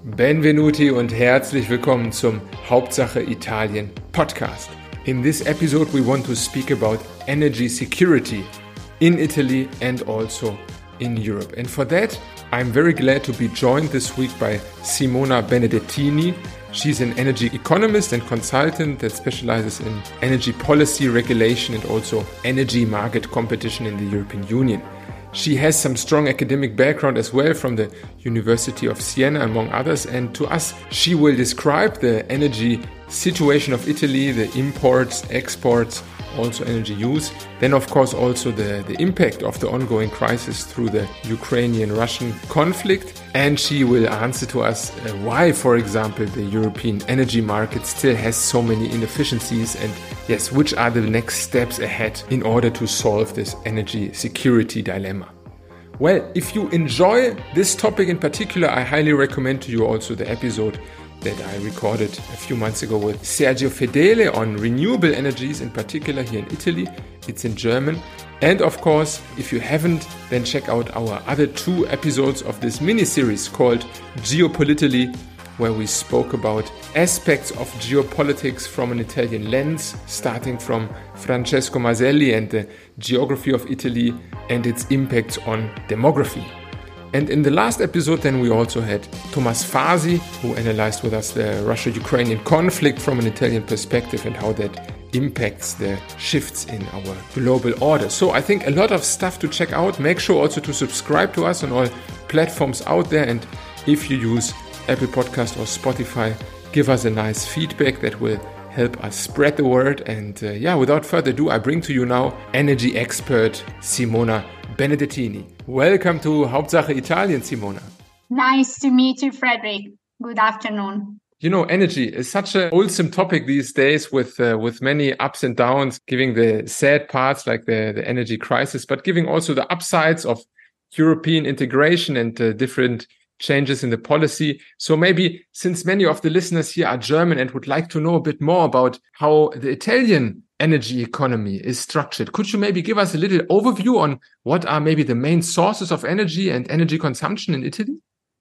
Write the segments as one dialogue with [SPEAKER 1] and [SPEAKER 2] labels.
[SPEAKER 1] Benvenuti und herzlich willkommen zum Hauptsache Italien Podcast. In this episode we want to speak about energy security in Italy and also in Europe. And for that I'm very glad to be joined this week by Simona Benedettini. She's an energy economist and consultant that specializes in energy policy regulation and also energy market competition in the European Union. She has some strong academic background as well from the University of Siena, among others, and to us she will describe the energy situation of Italy, the imports, exports, also energy use, then of course also the impact of the ongoing crisis through the Ukrainian-Russian conflict, and she will answer to us why, for example, the European energy market still has so many inefficiencies and yes, which are the next steps ahead in order to solve this energy security dilemma. Well, if you enjoy this topic in particular, I highly recommend to you also the episode that I recorded a few months ago with Sergio Fedele on renewable energies, in particular here in Italy. It's in German. And of course, if you haven't, then check out our other two episodes of this mini-series called Geopolitically, where we spoke about aspects of geopolitics from an Italian lens, starting from Francesco Maselli and the geography of Italy and its impacts on demography. And in the last episode then we also had Thomas Fasi, who analyzed with us the Russia-Ukrainian conflict from an Italian perspective and how that impacts the shifts in our global order. So I think a lot of stuff to check out. Make sure also to subscribe to us on all platforms out there. And if you use Apple Podcast or Spotify, give us a nice feedback that will help us spread the word. And without further ado, I bring to you now energy expert Simona Benedettini. Welcome to Hauptsache Italien, Simona.
[SPEAKER 2] Nice to meet you, Frederick. Good afternoon.
[SPEAKER 1] You know, energy is such a wholesome topic these days with many ups and downs, giving the sad parts like the energy crisis, but giving also the upsides of European integration and different changes in the policy. So maybe since many of the listeners here are German and would like to know a bit more about how the Italian energy economy is structured, could you maybe give us a little overview on what are maybe the main sources of energy and energy consumption in Italy?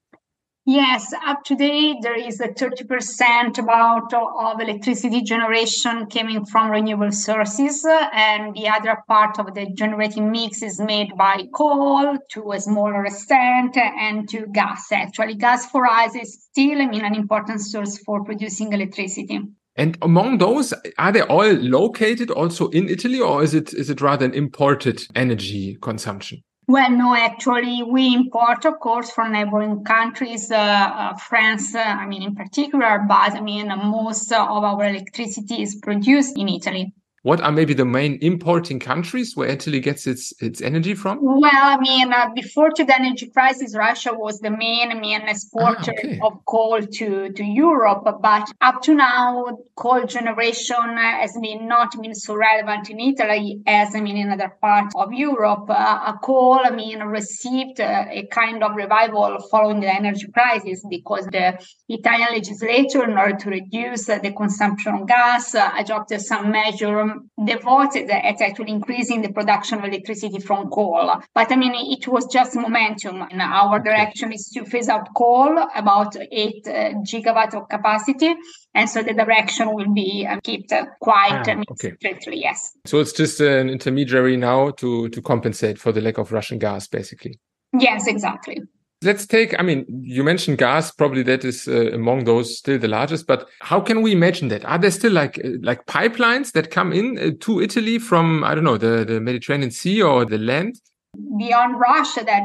[SPEAKER 2] Yes, up to date, there is a 30% about of electricity generation coming from renewable sources, and the other part of the generating mix is made by coal to a smaller extent and to gas. Actually, gas for us is still, an important source for producing electricity.
[SPEAKER 1] And among those, are they all located also in Italy, or is it rather an imported energy consumption?
[SPEAKER 2] Well, no, actually, we import, of course, from neighboring countries, France, in particular, but most of our electricity is produced in Italy.
[SPEAKER 1] What are maybe the main importing countries where Italy gets its energy from?
[SPEAKER 2] Well, before the energy crisis, Russia was the main exporter of coal to Europe. But up to now, coal generation has not been so relevant in Italy as, in other parts of Europe. Coal, received a kind of revival following the energy crisis because the Italian legislature, in order to reduce the consumption of gas, adopted some measures devoted at actually increasing the production of electricity from coal. But it was just momentum. And our direction is to phase out coal, about 8 gigawatt of capacity. And so the direction will be kept quite strictly, yes.
[SPEAKER 1] So it's just an intermediary now to compensate for the lack of Russian gas, basically.
[SPEAKER 2] Yes, exactly.
[SPEAKER 1] Let's take, you mentioned gas, probably that is among those still the largest, but how can we imagine that? Are there still like pipelines that come in to Italy from, the Mediterranean Sea or the land?
[SPEAKER 2] Beyond Russia, that,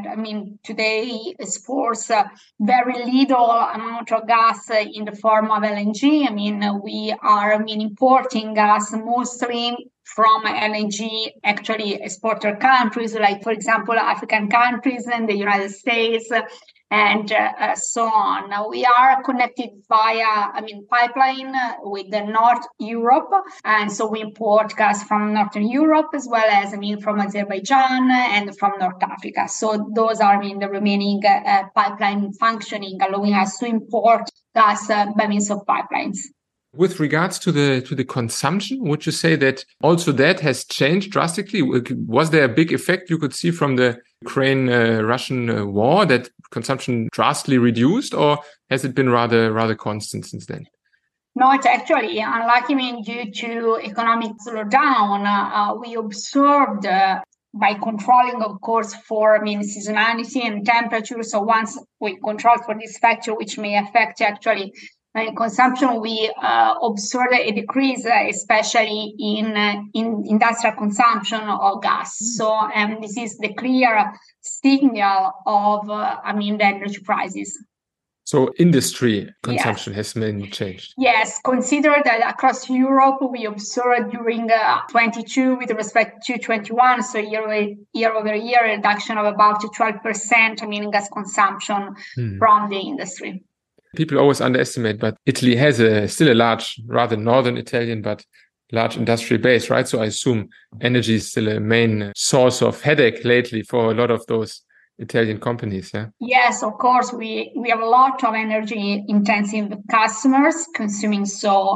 [SPEAKER 2] today exports very little amount of gas in the form of LNG. We are, importing gas mostly from LNG, actually exporter countries, like, for example, African countries and the United States, and so on. Now, we are connected via, pipeline with the North Europe. And so we import gas from Northern Europe as well as, from Azerbaijan and from North Africa. So those are, the remaining pipeline functioning, allowing us to import gas by means of pipelines.
[SPEAKER 1] With regards to the consumption, would you say that also that has changed drastically? Was there a big effect you could see from the Ukraine-Russian war that consumption drastically reduced, or has it been rather constant since then?
[SPEAKER 2] Not actually. Unluckily, due to economic slowdown, we observed by controlling, of course, for seasonality and temperature. So once we control for this factor, which may affect actually consumption, we observed a decrease, especially in industrial consumption of gas. So this is the clear signal of the energy prices.
[SPEAKER 1] So industry consumption has mainly changed.
[SPEAKER 2] Yes, consider that across Europe, we observed during 22 with respect to 21, so year-over-year reduction of about 12%, in gas consumption from the industry.
[SPEAKER 1] People always underestimate, but Italy has still a large, rather northern Italian, but large industrial base, right? So I assume energy is still a main source of headache lately for a lot of those Italian companies, yeah?
[SPEAKER 2] Yes, of course. We have a lot of energy intensive customers consuming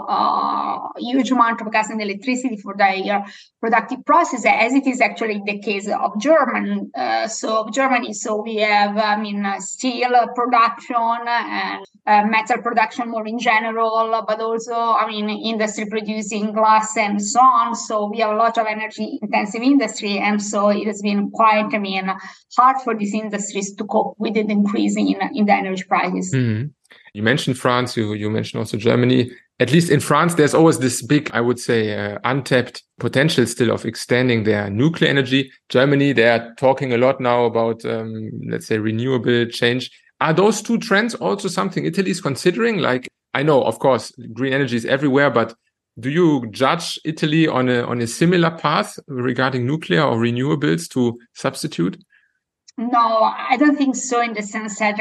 [SPEAKER 2] huge amount of gas and electricity for their productive process, as it is actually the case of Germany. So we have steel production and metal production more in general, but also industry producing glass and so on. So we have a lot of energy intensive industry, and so it has been quite hard for these industries to cope with the increase in the energy prices.
[SPEAKER 1] Mm-hmm. You mentioned France, you mentioned also Germany. At least in France, there's always this big, I would say, untapped potential still of extending their nuclear energy. Germany, they are talking a lot now about, let's say, renewable change. Are those two trends also something Italy is considering? Like, I know, of course, green energy is everywhere, but do you judge Italy on a similar path regarding nuclear or renewables to substitute?
[SPEAKER 2] No, I don't think so, in the sense that,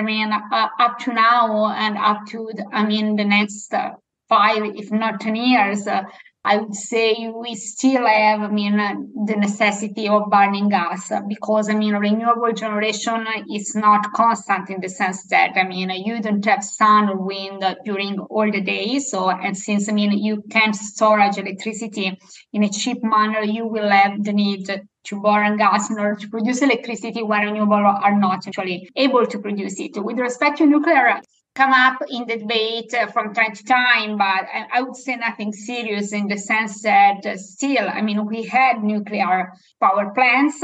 [SPEAKER 2] up to now and up to, the next 5, if not 10 years, I would say we still have, the necessity of burning gas, because, renewable generation is not constant, in the sense that, you don't have sun or wind during all the day. So, and since, you can't storage electricity in a cheap manner, you will have the need to burn gas in order to produce electricity when renewable are not actually able to produce it. With respect to nuclear, come up in the debate from time to time, but I would say nothing serious, in the sense that still, we had nuclear power plants,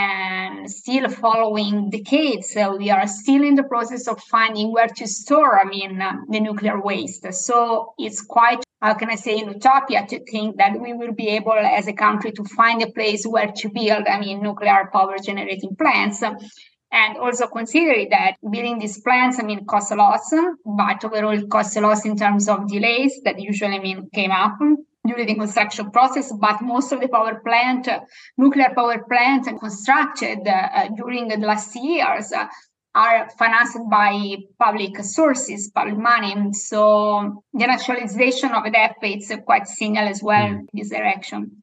[SPEAKER 2] and still following decades, we are still in the process of finding where to store, the nuclear waste. So it's quite, how can I say, an utopia to think that we will be able as a country to find a place where to build, nuclear power generating plants. And also consider that building these plants, costs a lot, but overall it costs a lot in terms of delays that usually, came up during the construction process. But most of the nuclear power plants constructed during the last years are financed by public sources, public money. So the nationalization of EDF is quite signal as well in this direction.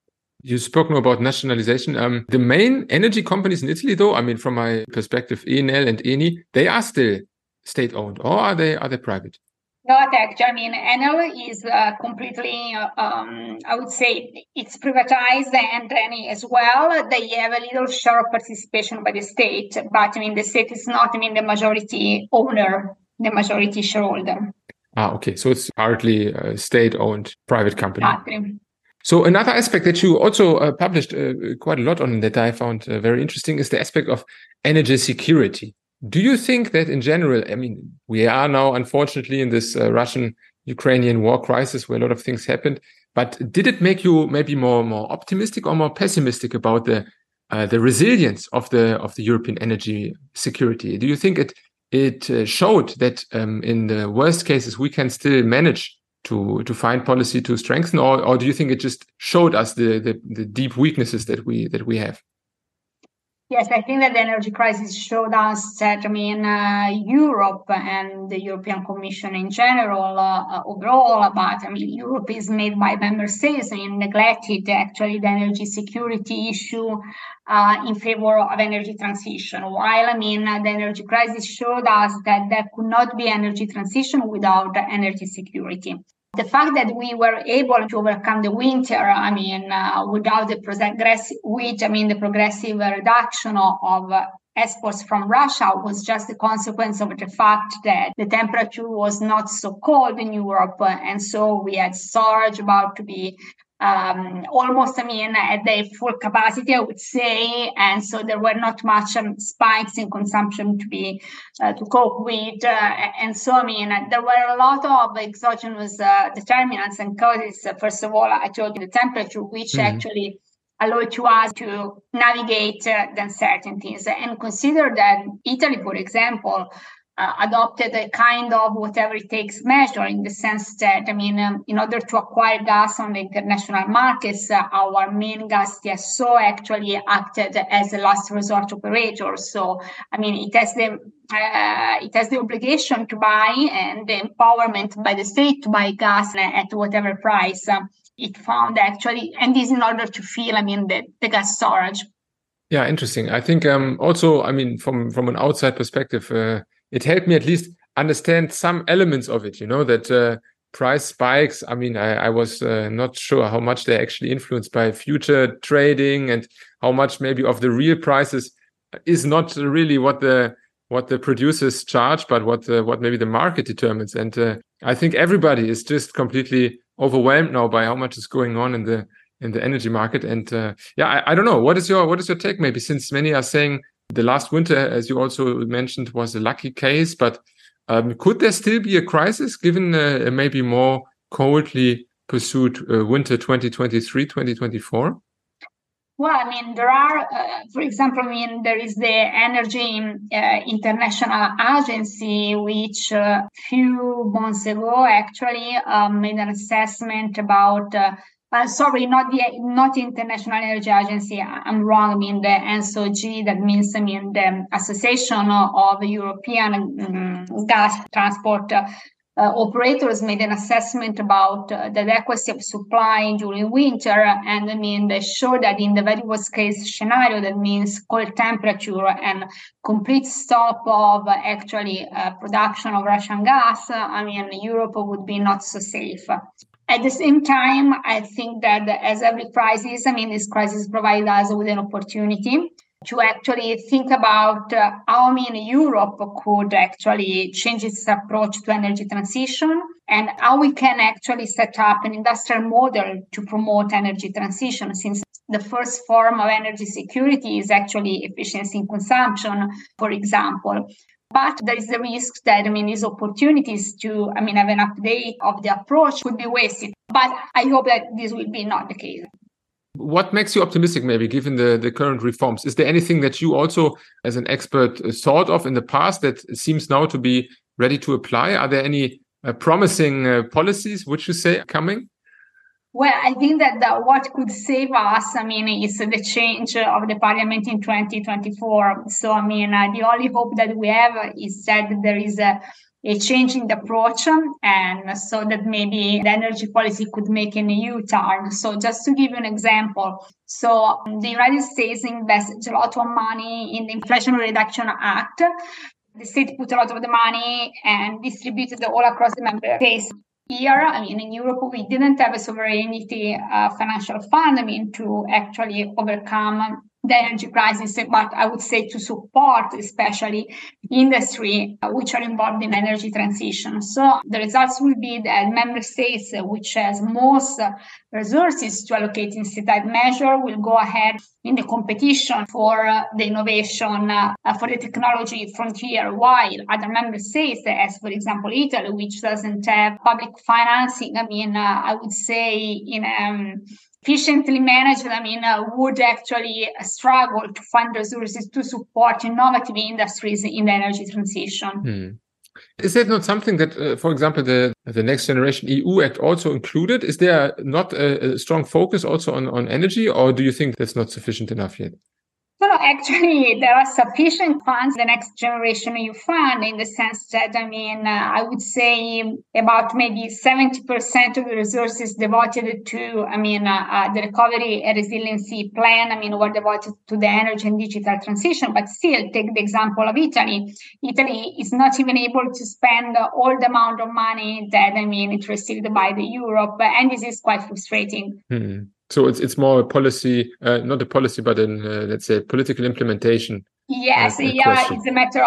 [SPEAKER 1] You spoke now about nationalization. The main energy companies in Italy, though, from my perspective, Enel and Eni, they are still state-owned, or are they private?
[SPEAKER 2] Not actually. Enel is completely, I would say, it's privatized, and Eni as well. They have a little share of participation by the state, but the state is not the majority owner, the majority shareholder.
[SPEAKER 1] Okay. So it's partly a state-owned private company.
[SPEAKER 2] Exactly.
[SPEAKER 1] So another aspect that you also published quite a lot on, that I found very interesting, is the aspect of energy security. Do you think that in general, we are now unfortunately in this Russian-Ukrainian war crisis where a lot of things happened, but did it make you maybe more optimistic or more pessimistic about the resilience of the European energy security? Do you think it showed that in the worst cases we can still manage to find policy to strengthen, or do you think it just showed us the deep weaknesses that we have?
[SPEAKER 2] Yes, I think that the energy crisis showed us that, Europe and the European Commission in general, overall, but Europe is made by member states and neglected actually the energy security issue in favor of energy transition. While, the energy crisis showed us that there could not be energy transition without energy security. The fact that we were able to overcome the winter, without the progressive reduction of exports from Russia was just the consequence of the fact that the temperature was not so cold in Europe. And so we had storage about to be almost, at their full capacity, I would say. And so there were not much spikes in consumption to cope with. And so, there were a lot of exogenous determinants and causes. First of all, I told you the temperature, which actually allowed to us to navigate the uncertainties. And consider that Italy, for example, adopted a kind of whatever it takes measure, in the sense that, in order to acquire gas on the international markets, our main gas TSO actually acted as a last resort operator. So, it has the obligation to buy and the empowerment by the state to buy gas at whatever price it found actually, and this in order to fill, the gas storage.
[SPEAKER 1] Yeah, interesting. I think also, from an outside perspective, it helped me at least understand some elements of it, that price spikes. I was not sure how much they're actually influenced by future trading and how much maybe of the real prices is not really what the producers charge, but what maybe the market determines. And I think everybody is just completely overwhelmed now by how much is going on in the energy market. And I don't know. What is your take? Maybe, since many are saying the last winter, as you also mentioned, was a lucky case, but could there still be a crisis given maybe more coldly pursued winter 2023-2024?
[SPEAKER 2] Well, there are, for example, there is the Energy International Agency, which a few months ago actually made an assessment about. Not International Energy Agency. I'm wrong. The ENSOG, that means the Association of European Gas Transport Operators, made an assessment about the adequacy of supply during winter, and they show that in the very worst case scenario, that means cold temperature and complete stop of actually production of Russian gas, Europe would be not so safe. At the same time, I think that as every crisis, this crisis provides us with an opportunity to actually think about how Europe could actually change its approach to energy transition, and how we can actually set up an industrial model to promote energy transition, since the first form of energy security is actually efficiency in consumption, for example. But there is the risk that, these opportunities to, have an update of the approach could be wasted. But I hope that this will be not the case.
[SPEAKER 1] What makes you optimistic, maybe, given the current reforms? Is there anything that you also, as an expert, thought of in the past that seems now to be ready to apply? Are there any promising policies, which you say, are coming?
[SPEAKER 2] Well, I think that what could save us, is the change of the parliament in 2024. So, the only hope that we have is that there is a change in the approach, and so that maybe the energy policy could make an U-turn. So just to give you an example, so the United States invested a lot of money in the Inflation Reduction Act. The state put a lot of the money and distributed all across the member states. Here, in Europe, we didn't have a sovereignty financial fund, to actually overcome the energy crisis, but I would say to support especially industry which are involved in energy transition. So the results will be that member states which has most resources to allocate in state measure will go ahead in the competition for the innovation, for the technology frontier, while other member states, as for example Italy, which doesn't have public financing, I would say in efficiently managed, would actually struggle to find resources to support innovative industries in the energy transition.
[SPEAKER 1] Is that not something that, for example, the Next Generation EU Act also included? Is there not a strong focus also on energy, or do you think that's not sufficient enough yet?
[SPEAKER 2] No, actually, there are sufficient funds, the Next Generation EU Fund, in the sense that, I would say about maybe 70% of the resources devoted to, the Recovery and Resiliency Plan, were devoted to the energy and digital transition. But still, take the example of Italy. Italy is not even able to spend all the amount of money that, it received by the Europe, and this is quite frustrating.
[SPEAKER 1] So it's more a policy, not a policy, but let's say political implementation
[SPEAKER 2] Yes, here is a matter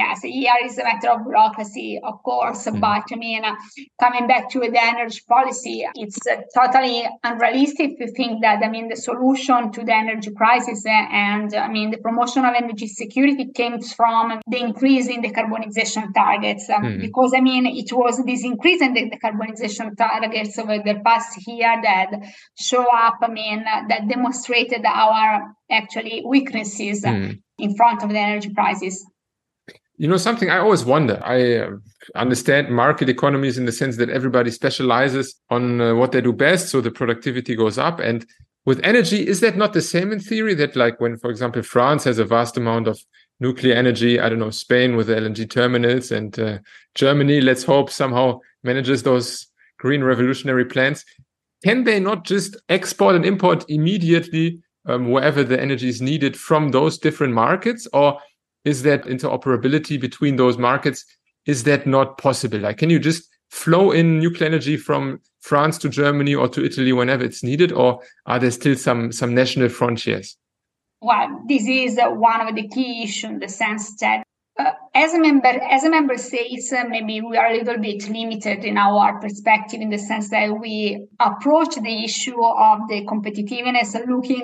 [SPEAKER 2] of bureaucracy, of course. But I mean, coming back to the energy policy, it's totally unrealistic to think that the solution to the energy crisis and the promotion of energy security came from the increase in decarbonization targets. Because it was this increase in the decarbonization targets over the past year that show up. That demonstrated our actually weaknesses in front of the energy crisis.
[SPEAKER 1] Something I always wonder, I understand market economies in the sense that everybody specializes on what they do best, so the productivity goes up. And with energy, is that not the same in theory, that like when, for example, France has a vast amount of nuclear energy, I don't know, Spain with the LNG terminals, and Germany, let's hope, somehow manages those green revolutionary plans. Can they not just export and import immediately wherever the energy is needed from those different markets? Or is that interoperability between those markets, is that not possible? Like, can you just flow in nuclear energy from France to Germany or to Italy whenever it's needed? Or are there still some national frontiers?
[SPEAKER 2] Well, this is one of the key issues in the sense that as a member states, maybe we are a little bit limited in our perspective in the sense that we approach the issue of the competitiveness looking,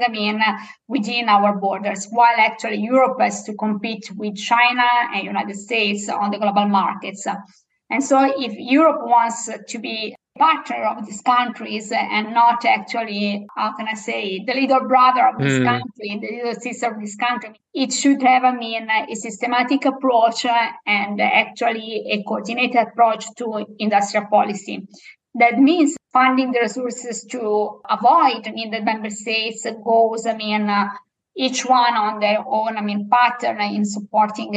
[SPEAKER 2] within our borders, while actually Europe has to compete with China and United States on the global markets. And so if Europe wants to be partner of these countries and not actually, the little brother of this country, the little sister of this country, it should have, a systematic approach and actually a coordinated approach to industrial policy. That means funding the resources to avoid, the member states goes, each one on their own, pattern in supporting,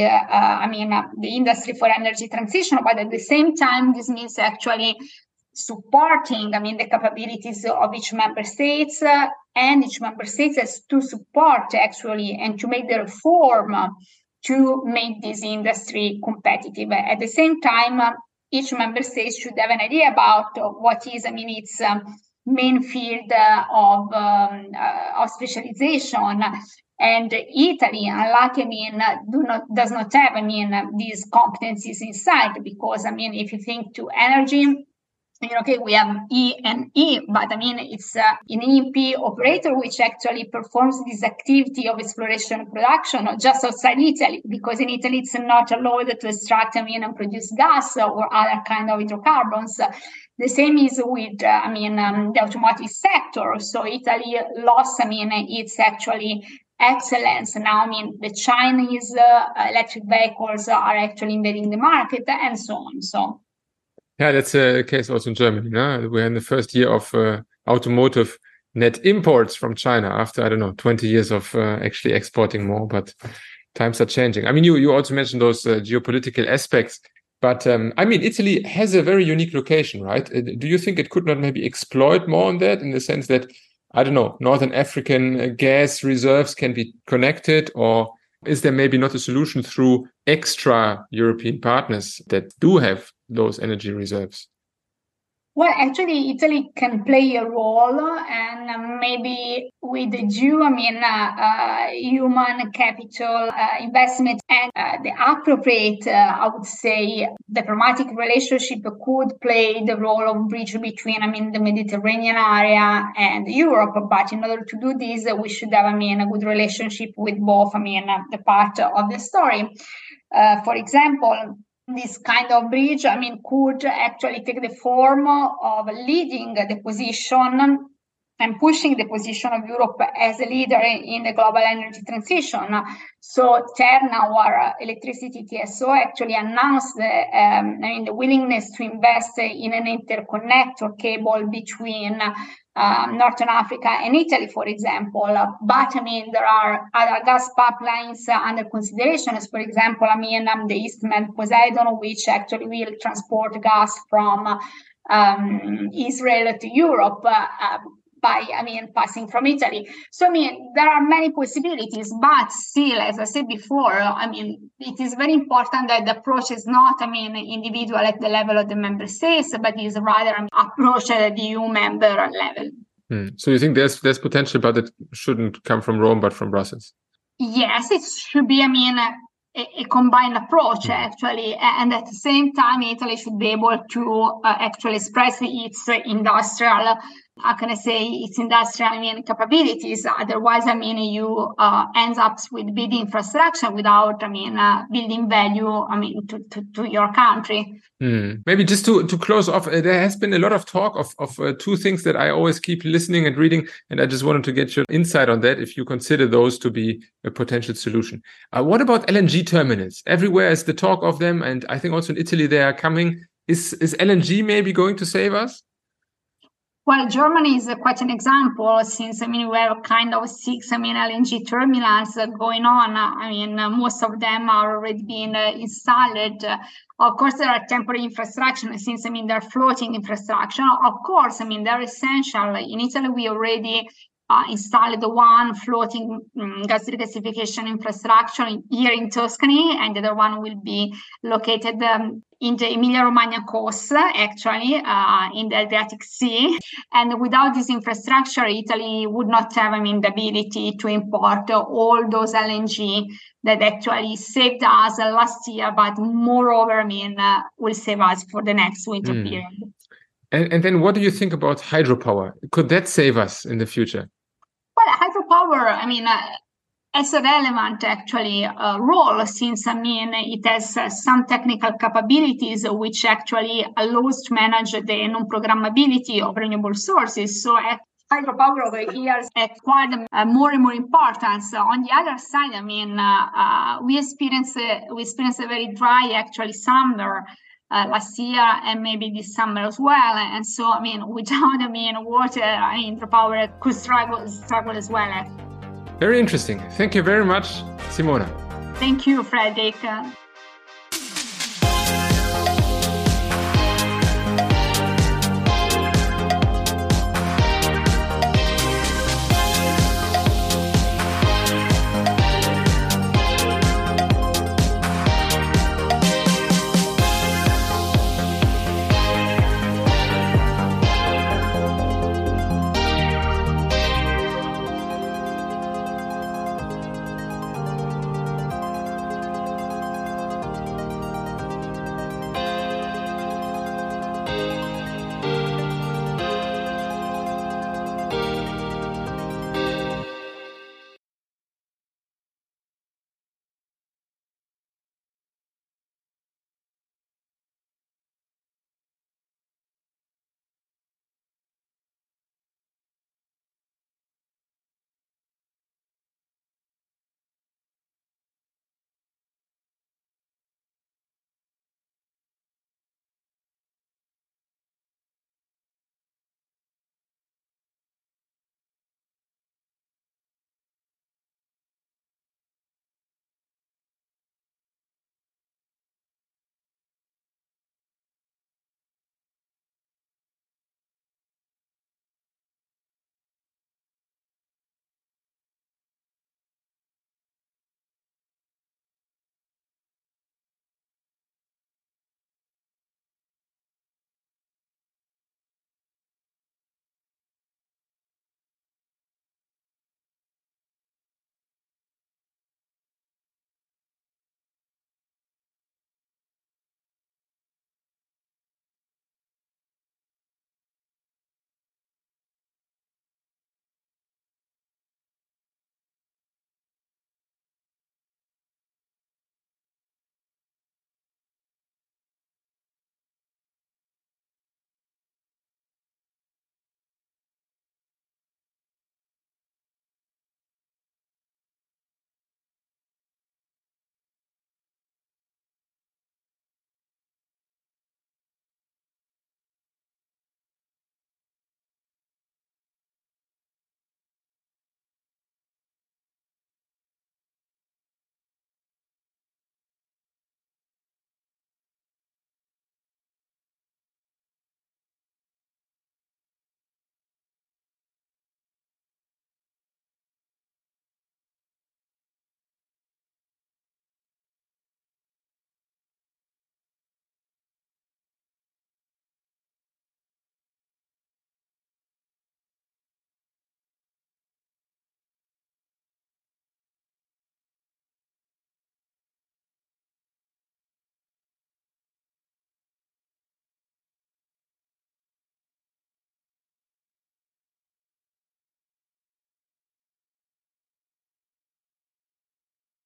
[SPEAKER 2] the industry for energy transition. But at the same time, this means actually supporting, the capabilities of each member states, and each member state has to support actually and to make the reform to make this industry competitive. At the same time, each member state should have an idea about what is, its main field of specialization. And Italy, unluckily, does not have, these competencies inside, because, if you think to energy, we have E&E, but it's an E&P operator which actually performs this activity of exploration and production just outside Italy, because in Italy it's not allowed to extract, and produce gas or other kind of hydrocarbons. The same is with, the automotive sector. So Italy lost, its actually excellence. Now, the Chinese electric vehicles are actually invading the market and so on. So.
[SPEAKER 1] Yeah, that's a case also in Germany. No? We're in the first year of automotive net imports from China after, 20 years of actually exporting more, but times are changing. You also mentioned those geopolitical aspects, but Italy has a very unique location, right? Do you think it could not maybe exploit more on that, in the sense that, Northern African gas reserves can be connected, or is there maybe not a solution through extra European partners that do have those energy reserves?
[SPEAKER 2] Well, actually, Italy can play a role, and maybe with the due, human capital investment and the appropriate, I would say, diplomatic relationship could play the role of bridge between, the Mediterranean area and Europe. But in order to do this, we should have, a good relationship with both, the part of the story. For example, this kind of bridge, could actually take the form of leading the position and pushing the position of Europe as a leader in the global energy transition. So Terna, our electricity TSO, actually announced the willingness to invest in an interconnector cable between Northern Africa and Italy, for example. But there are other gas pipelines under consideration, as for example, the Eastman Poseidon, which actually will transport gas from Israel to Europe by passing from Italy. So there are many possibilities, but still, as I said before, it is very important that the approach is not individual at the level of the member states, but is rather an approach at the EU member level.
[SPEAKER 1] So you think there's potential, but it shouldn't come from Rome, but from Brussels?
[SPEAKER 2] Yes, it should be, a combined approach, actually. And at the same time, Italy should be able to actually express its industrial, its industrial, capabilities. Otherwise, you end up with big infrastructure without, building value, to your country.
[SPEAKER 1] Maybe just to close off, there has been a lot of talk of two things that I always keep listening and reading, and I just wanted to get your insight on that, if you consider those to be a potential solution. What about LNG terminals? Everywhere is the talk of them, and I think also in Italy they are coming. Is LNG maybe going to save us?
[SPEAKER 2] Well, Germany is quite an example, since we have kind of 6 LNG terminals going on. Most of them are already being installed. Of course, there are temporary infrastructure, since they're floating infrastructure. Of course, they're essential. In Italy, we already installed one floating gas regasification infrastructure here in Tuscany, and the other one will be located in the Emilia-Romagna coast, actually, in the Adriatic Sea. And without this infrastructure, Italy would not have, the ability to import all those LNG that actually saved us last year, but moreover, will save us for the next winter period.
[SPEAKER 1] And then what do you think about hydropower? Could that save us in the future?
[SPEAKER 2] Well, hydropower, has a relevant actually role, since it has some technical capabilities which actually allows to manage the non-programmability of renewable sources. So hydropower over years acquired more and more importance. On the other side, we experienced a very dry actually summer last year, and maybe this summer as well. And so, without water, hydropower could struggle as well.
[SPEAKER 1] Very interesting. Thank you very much, Simona.
[SPEAKER 2] Thank you, Frederick.